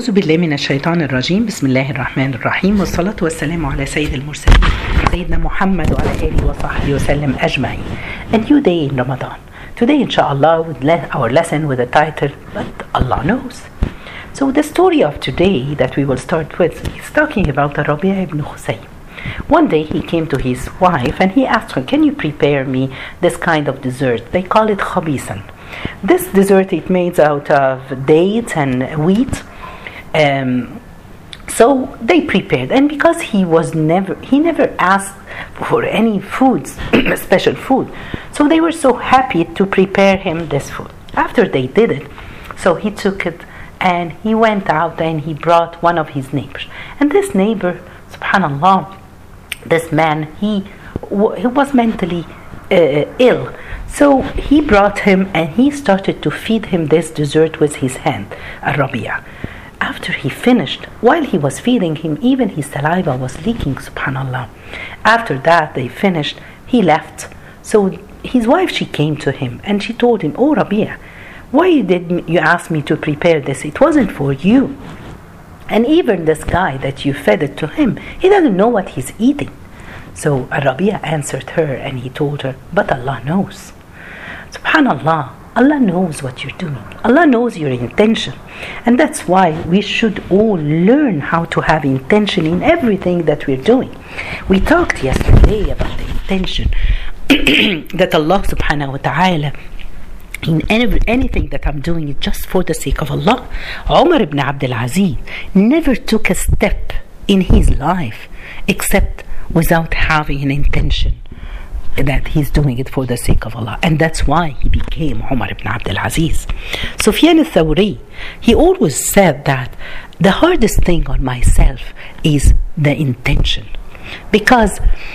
أعوذ بالله من الشيطان الرجيم. بسم الله الرحمن الرحيم، والصلاة والسلام على سيد المرسلين سيدنا محمد وعلى آله وصحبه وسلم أجمعين. A new day in Ramadan. Today inshallah our lesson with the title But Allah Knows. So the story of today that we will start with is talking about Rabi' ibn Khusaym. One day he came to his wife and he asked her, can you prepare me this kind of dessert? They call it khabisan. This dessert is made out of dates and wheat. So they prepared, and because he never asked for any foods, special food, so they were so happy to prepare him this food. After they did it, so he took it and he went out and he brought one of his neighbors. And this neighbor, subhanallah, this man, he was mentally ill. So he brought him and he started to feed him this dessert with his hand, Rabi'a. After he finished, while he was feeding him, even his saliva was leaking, subhanallah. After that, they finished, he left. So his wife, she came to him and she told him, oh Rabi'a, why did you ask me to prepare this? It wasn't for you. And even this guy that you fed it to him, he doesn't know what he's eating. So Rabi'a answered her and he told her, but Allah knows. Subhanallah, Allah knows what you're doing. Allah knows your intention. And that's why we should all learn how to have intention in everything that we're doing. We talked yesterday about the intention that Allah subhanahu wa ta'ala, in anything that I'm doing it just for the sake of Allah. Umar ibn Abdul Aziz never took a step in his life except without having an intention that he's doing it for the sake of Allah. And that's why he became Umar ibn Abdul Aziz. Sufyan al-Thawri, he always said that the hardest thing on myself is the intention, because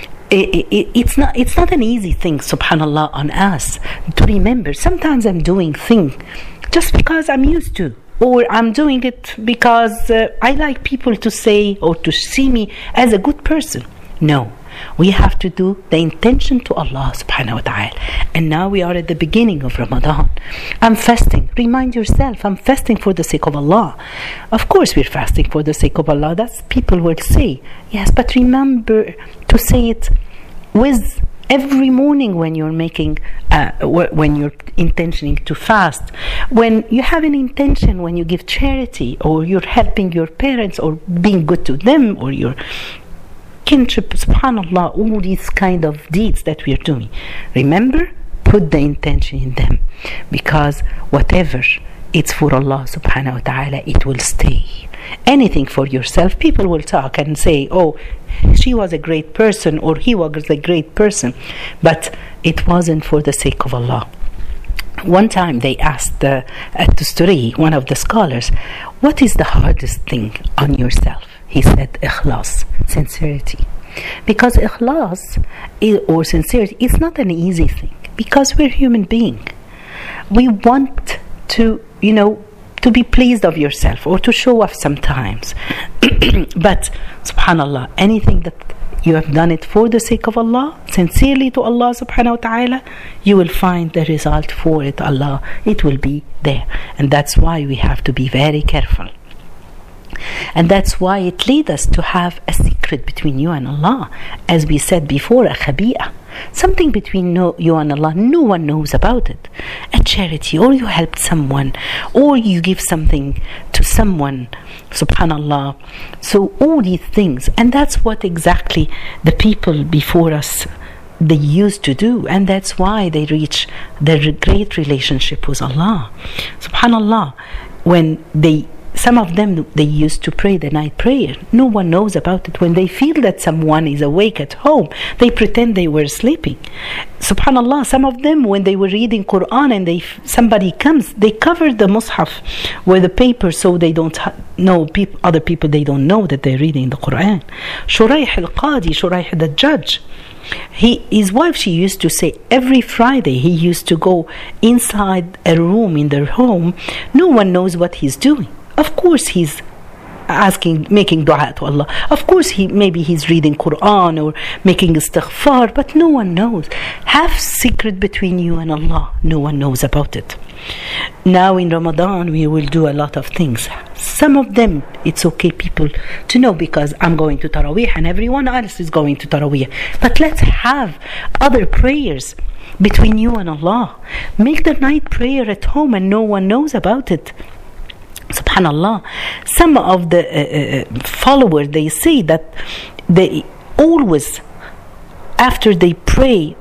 it's not an easy thing, subhanallah, on us to remember. Sometimes I'm doing things just because I'm used to, or I'm doing it because I like people to say or to see me as a good person. No, we have to do the intention to Allah subhanahu wa ta'ala. And now we are at the beginning of Ramadan. I'm fasting. Remind yourself, I'm fasting for the sake of Allah. Of course we're fasting for the sake of Allah. That's people will say. Yes, but remember to say it with every morning when you're making, when you're intentioning to fast. When you have an intention, when you give charity, or you're helping your parents, or being good to them, or you're kinship, subhanallah, all these kind of deeds that we are doing. Remember, put the intention in them, because whatever it's for Allah subhanahu wa ta'ala, it will stay. Anything for yourself, people will talk and say, oh, she was a great person or he was a great person, but it wasn't for the sake of Allah. One time they asked At-Tusturi, one of the scholars, what is the hardest thing on yourself? He said, ikhlas, sincerity. Because ikhlas or sincerity is not an easy thing, because we're human beings. We want to, to be pleased of yourself or to show off sometimes. But subhanallah, anything that you have done it for the sake of Allah, sincerely to Allah subhanahu wa ta'ala, you will find the result for it, Allah. It will be there. And that's why we have to be very careful. And that's why it leads us to have a secret between you and Allah. As we said before, a khabi'a. Something between you and Allah, no one knows about it. A charity, or you helped someone, or you give something to someone, subhanallah. So all these things, and that's what exactly the people before us, they used to do, and that's why they reach their great relationship with Allah. Subhanallah, when some of them, they used to pray the night prayer. No one knows about it. When they feel that someone is awake at home, they pretend they were sleeping. Subhanallah, some of them, when they were reading Quran and somebody comes, they cover the mushaf with the paper so they don't know, other people, they don't know that they're reading the Quran. Shuraih al-Qadi, Shuraih the judge, his wife, she used to say every Friday he used to go inside a room in their home. No one knows what he's doing. Of course he's making dua to Allah. Of course, maybe he's reading Quran or making istighfar, but no one knows. Have secret between you and Allah. No one knows about it. Now in Ramadan, we will do a lot of things. Some of them, it's okay people to know, because I'm going to Taraweeh and everyone else is going to Taraweeh. But let's have other prayers between you and Allah. Make the night prayer at home and no one knows about it. Subhanallah. Some of the followers, they say that they always, after they pray,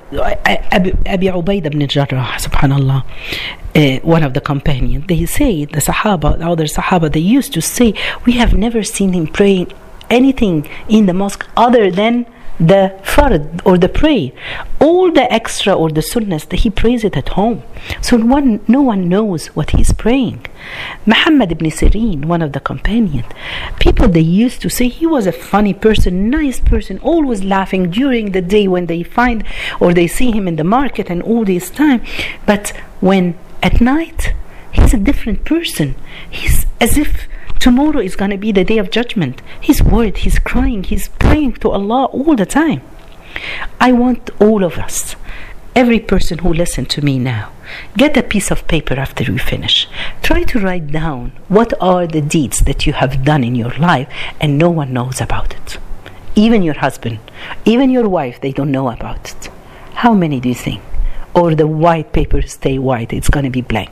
Abi Ubaid ibn Jarrah, subhanallah, one of the companions, they say, the other Sahaba, they used to say, we have never seen him praying anything in the mosque other than the fard or the prayer. All the extra or the sunnahs, he prays it at home. So no one knows what he's praying. Muhammad ibn Sirin, one of the companions, people, they used to say he was a funny person, nice person, always laughing during the day when they find or they see him in the market and all this time. But when at night, he's a different person. He's as if tomorrow is going to be the day of judgment. He's worried, he's crying, he's praying to Allah all the time. I want all of us, every person who listens to me now, get a piece of paper after we finish. Try to write down what are the deeds that you have done in your life and no one knows about it. Even your husband, even your wife, they don't know about it. How many do you think? Or the white paper stay white, it's going to be blank.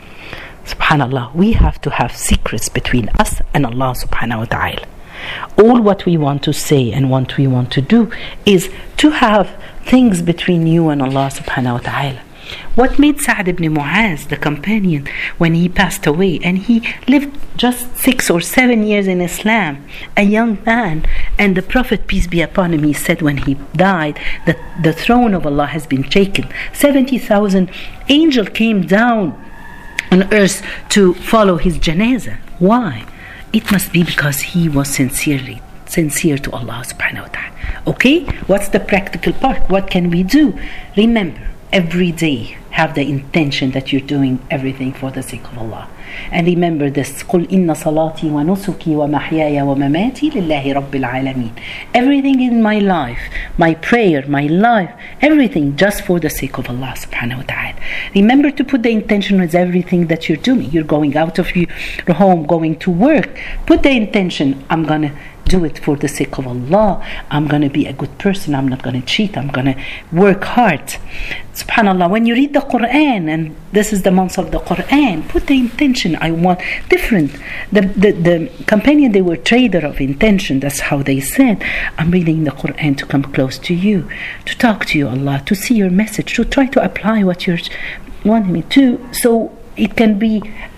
Subhanallah, we have to have secrets between us and Allah subhanahu wa ta'ala. All what we want to say and what we want to do is to have things between you and Allah subhanahu wa ta'ala. What made Sa'd ibn Mu'az, the companion, when he passed away, and he lived just 6 or 7 years in Islam, a young man, and the Prophet, peace be upon him, he said when he died that the throne of Allah has been taken. 70,000 angels came down on earth to follow his janazah. Why? It must be because he was sincere to Allah subhanahu wa ta'ala. Okay, what's the practical part? What can we do? Remember, every day have the intention that you're doing everything for the sake of Allah. And remember this, قُلْ إِنَّ صَلَاتِي وَنُسُكِي وَمَحْيَايَ وَمَمَاتِي لِلَّهِ رَبِّ الْعَالَمِينَ. Everything in my life, my prayer, my life, everything just for the sake of Allah subhanahu wa ta'ala. Remember to put the intention with everything that you're doing. You're going out of your home, going to work. Put the intention, I'm going to do it for the sake of Allah. I'm going to be a good person. I'm not going to cheat. I'm going to work hard. Subhanallah, when you read the Quran, and this is the month of the Quran, put the intention. I want different. The companion, they were trader of intention. That's how they said, I'm reading the Quran to come close to you, to talk to you, Allah, to see your message, to try to apply what you're wanting me to, so it can be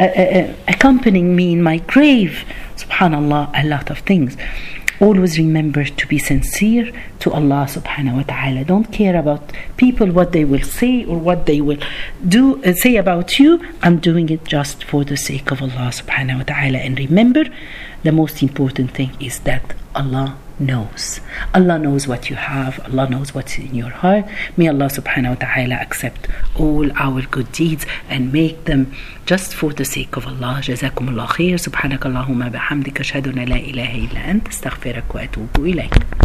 accompanying me in my grave. Subhanallah, a lot of things. Always remember to be sincere to Allah subhanahu wa ta'ala. Don't care about people, what they will say or what they will do say about you. I'm doing it just for the sake of Allah subhanahu wa ta'ala. And remember, the most important thing is that Allah knows. Allah knows what you have. Allah knows what's in your heart. May Allah subhanahu wa ta'ala accept all our good deeds and make them just for the sake of Allah. جزاكم الله خير. سبحانك اللهم بحمدك أشهد أن لا إله إلا أنت أستغفرك وأتوب إليك.